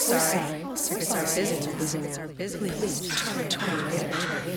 sorry. Circuits are busy now. Please try later.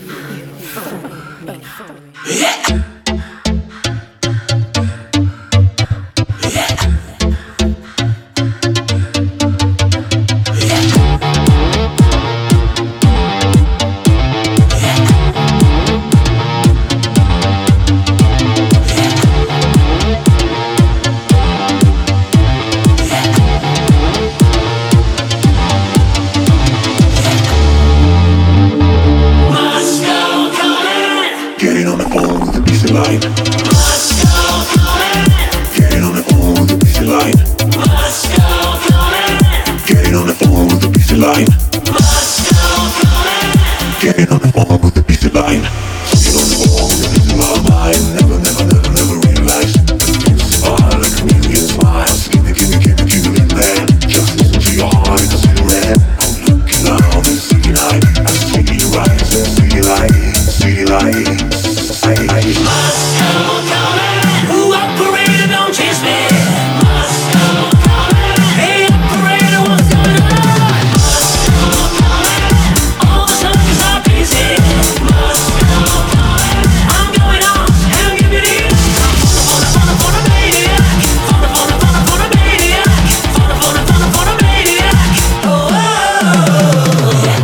Getting on the phone with a piece of line. Moscow calling. Getting on the phone with a piece of line. Moscow calling. Getting on the phone with a piece of line. Moscow calling. Getting on the phone with a piece of line. Getting on the phone with a piece of line. Never realized it's all like a million smiles. Give me man. Just listen to your heart and see the red. I'm looking out and see light. I see you rise and see light. See light. Moscow calling. Who operator, don't chase me. Moscow calling. Hey operator, what's going on? Moscow calling. All the suckers are busy. Moscow calling. I'm going on. Hell, give me the for the maniac. For the maniac. For the maniac. Oh, yeah.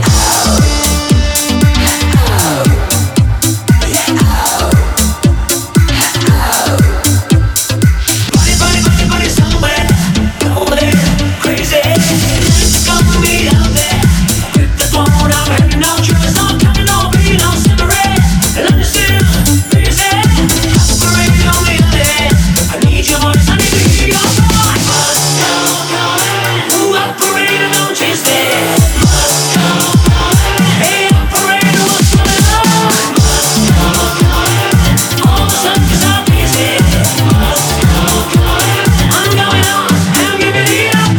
Body somewhere, nowhere, crazy. It's gonna be out there. Grip the phone, I'm having no trust. No time, no pain, no separate. And I'm still busy. Operating on the other end. I need your voice, I need to hear your voice. Moscow calling. Who operator, don't chase me. Moscow calling. Hey operator, what's going on? Moscow calling. All the suckers are busy. Moscow calling. I'm going on, I'm giving it up.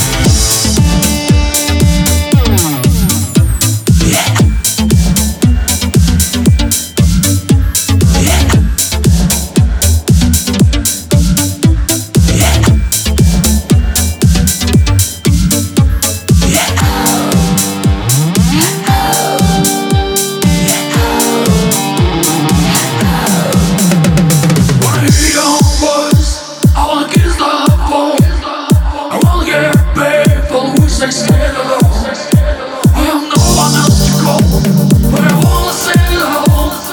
Wanna hear your voice. I wanna kiss the phone. I wanna get people who say stand alone. I have no one else to call, but I wanna say hello.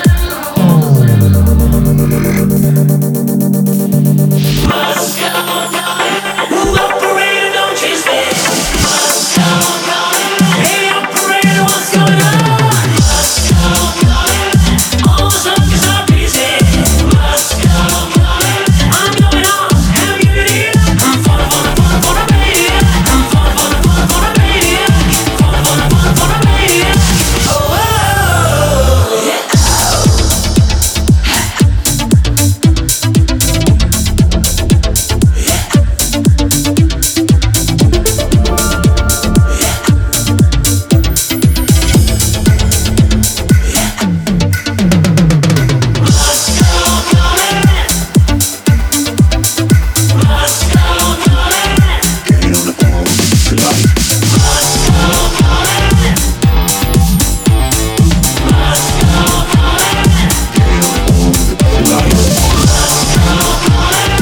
Moscow calling. Who operator, don't chase me. Moscow calling. Hey operator, what's going on? Moscow calling. All the suckers are busy. Moscow calling. I'm going on, I'm giving it up. I'm for the maniac. I'm for the maniac. For the maniac. Oh, yeah. Moscow calling. Moscow calling. Getting on the phone with a piece of line. Moscow calling. Moscow calling. Getting on the phone with a piece of line. Moscow calling.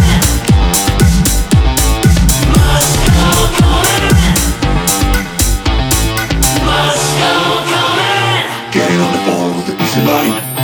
Moscow calling. Moscow calling. Getting on the phone with a piece of line.